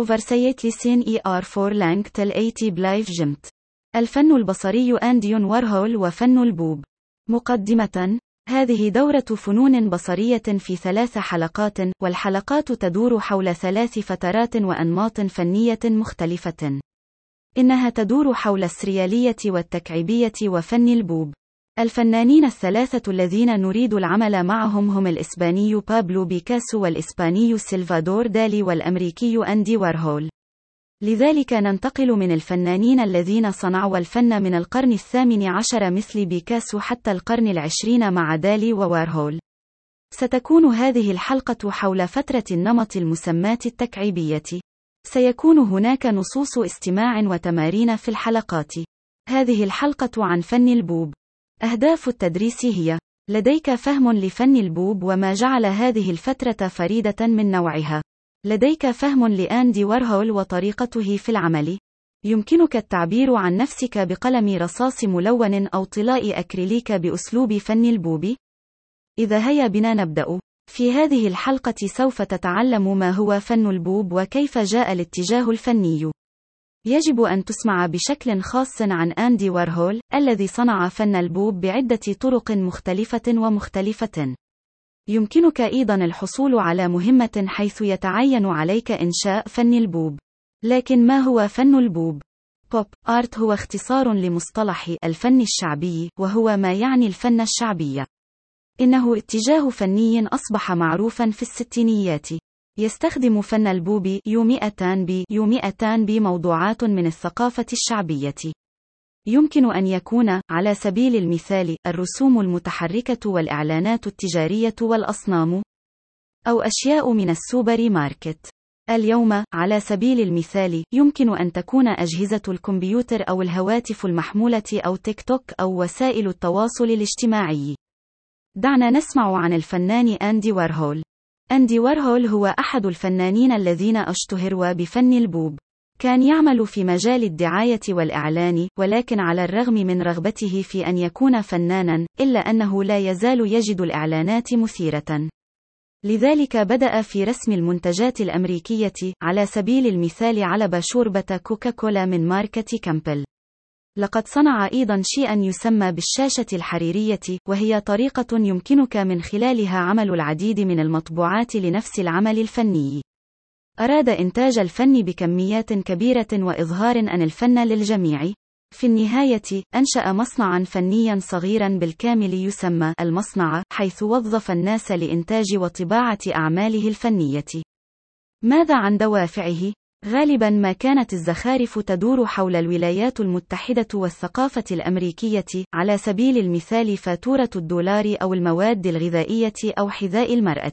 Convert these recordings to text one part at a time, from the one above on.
أوفرسيت لسين ER4 لانك تل 80 بلايف جمت. الفن البصري أندي وارهول وفن البوب. مقدمة. هذه دورة فنون بصرية في 3 حلقات، والحلقات تدور حول 3 فترات وأنماط فنية مختلفة. إنها تدور حول السريالية والتكعيبية وفن البوب. الفنانين ال3 الذين نريد العمل معهم هم الإسباني بابلو بيكاسو والإسباني سلفادور دالي والأمريكي أندي وارهول. لذلك ننتقل من الفنانين الذين صنعوا الفن من القرن 18 مثل بيكاسو حتى القرن 20 مع دالي ووارهول. ستكون هذه الحلقة حول فترة النمط المسماة التكعيبية. سيكون هناك نصوص استماع وتمارين في الحلقات. هذه الحلقة عن فن البوب. أهداف التدريس هي: لديك فهم لفن البوب وما جعل هذه الفترة فريدة من نوعها. لديك فهم لأندي وارهول وطريقته في العمل. يمكنك التعبير عن نفسك بقلم رصاص ملون أو طلاء أكريليك بأسلوب فن البوب. إذا هيا بنا نبدأ. في هذه الحلقة سوف تتعلم ما هو فن البوب وكيف جاء الاتجاه الفني. يجب أن تسمع بشكل خاص عن أندي وارهول، الذي صنع فن البوب بعدة طرق مختلفة ومختلفة. يمكنك أيضا الحصول على مهمة حيث يتعين عليك إنشاء فن البوب. لكن ما هو فن البوب؟ بوب آرت هو اختصار لمصطلح الفن الشعبي، وهو ما يعني الفن الشعبي. إنه اتجاه فني أصبح معروفا في الستينيات. يستخدم فن البوب يو200 موضوعات من الثقافة الشعبية. يمكن أن يكون، على سبيل المثال، الرسوم المتحركة والإعلانات التجارية والأصنام، أو أشياء من السوبر ماركت. اليوم، على سبيل المثال، يمكن أن تكون أجهزة الكمبيوتر أو الهواتف المحمولة أو تيك توك أو وسائل التواصل الاجتماعي. دعنا نسمع عن الفنان أندي وارهول. أندي وارهول هو أحد الفنانين الذين اشتهروا بفن البوب. كان يعمل في مجال الدعاية والإعلان، ولكن على الرغم من رغبته في أن يكون فنانا، إلا أنه لا يزال يجد الإعلانات مثيرة. لذلك بدأ في رسم المنتجات الأمريكية، على سبيل المثال علب شوربة كوكاكولا من ماركة كامبل. لقد صنع أيضا شيئا يسمى بالشاشة الحريرية، وهي طريقة يمكنك من خلالها عمل العديد من المطبوعات لنفس العمل الفني. أراد إنتاج الفن بكميات كبيرة وإظهار أن الفن للجميع. في النهاية، أنشأ مصنعا فنيا صغيرا بالكامل يسمى المصنع، حيث وظف الناس لإنتاج وطباعة أعماله الفنية. ماذا عن دوافعه؟ غالبا ما كانت الزخارف تدور حول الولايات المتحدة والثقافة الأمريكية، على سبيل المثال فاتورة الدولار أو المواد الغذائية أو حذاء المرأة.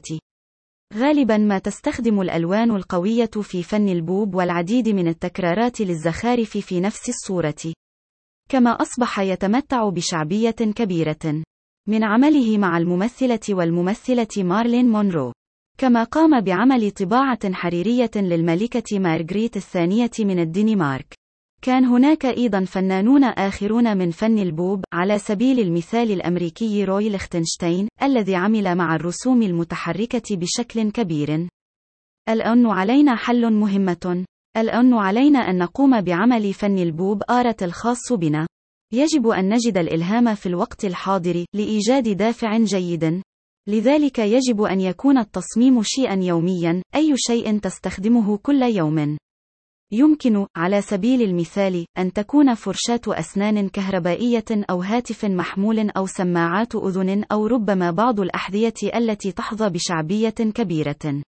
غالبا ما تستخدم الألوان القوية في فن البوب والعديد من التكرارات للزخارف في نفس الصورة. كما أصبح يتمتع بشعبية كبيرة من عمله مع الممثلة والممثلة مارلين مونرو. كما قام بعمل طباعة حريرية للملكة مارغريت الثانية من الدنمارك. كان هناك أيضا فنانون آخرون من فن البوب، على سبيل المثال الأمريكي روي ليختنشتاين، الذي عمل مع الرسوم المتحركة بشكل كبير. الآن علينا حل مهمة. الآن علينا أن نقوم بعمل فن البوب آرت الخاص بنا. يجب أن نجد الإلهام في الوقت الحاضر، لإيجاد دافع جيد. لذلك يجب أن يكون التصميم شيئا يوميا، أي شيء تستخدمه كل يوم. يمكن، على سبيل المثال، أن تكون فرشاة أسنان كهربائية أو هاتف محمول أو سماعات أذن أو ربما بعض الأحذية التي تحظى بشعبية كبيرة.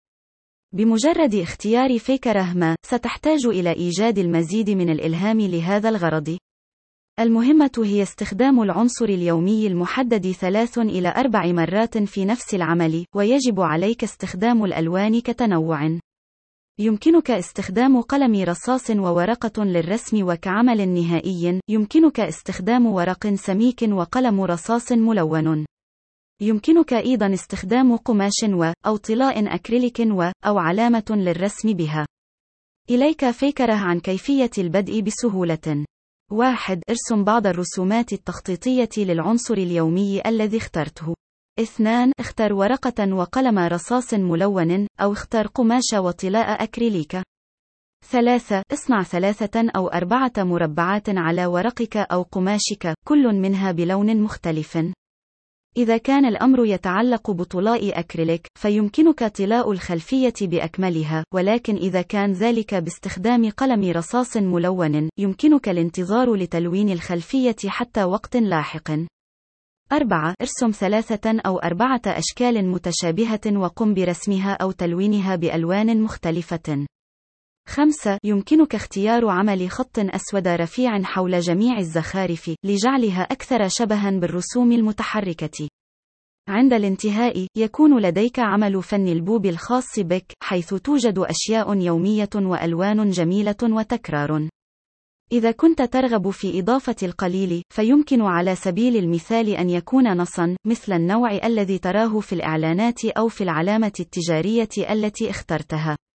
بمجرد اختيار فكرة ما، ستحتاج إلى إيجاد المزيد من الإلهام لهذا الغرض. المهمة هي استخدام العنصر اليومي المحدد 3 إلى 4 مرات في نفس العمل، ويجب عليك استخدام الألوان كتنوع. يمكنك استخدام قلم رصاص وورقة للرسم وكعمل نهائي، يمكنك استخدام ورق سميك وقلم رصاص ملون. يمكنك أيضا استخدام قماش أو طلاء أكريليك أو علامة للرسم بها. إليك فكرة عن كيفية البدء بسهولة. 1. ارسم بعض الرسومات التخطيطية للعنصر اليومي الذي اخترته. 2. اختر ورقة وقلم رصاص ملون، أو اختر قماش وطلاء أكريليك. 3. اصنع 3 أو 4 مربعات على ورقك أو قماشك، كل منها بلون مختلف. إذا كان الأمر يتعلق بطلاء أكريليك، فيمكنك طلاء الخلفية بأكملها، ولكن إذا كان ذلك باستخدام قلم رصاص ملون، يمكنك الانتظار لتلوين الخلفية حتى وقت لاحق. 4. ارسم 3 أو 4 أشكال متشابهة وقم برسمها أو تلوينها بألوان مختلفة. 5. يمكنك اختيار عمل خط أسود رفيع حول جميع الزخارف، لجعلها أكثر شبها بالرسوم المتحركة. عند الانتهاء، يكون لديك عمل فن البوب الخاص بك، حيث توجد أشياء يومية وألوان جميلة وتكرار. إذا كنت ترغب في إضافة القليل، فيمكن على سبيل المثال أن يكون نصا، مثل النوع الذي تراه في الإعلانات أو في العلامة التجارية التي اخترتها.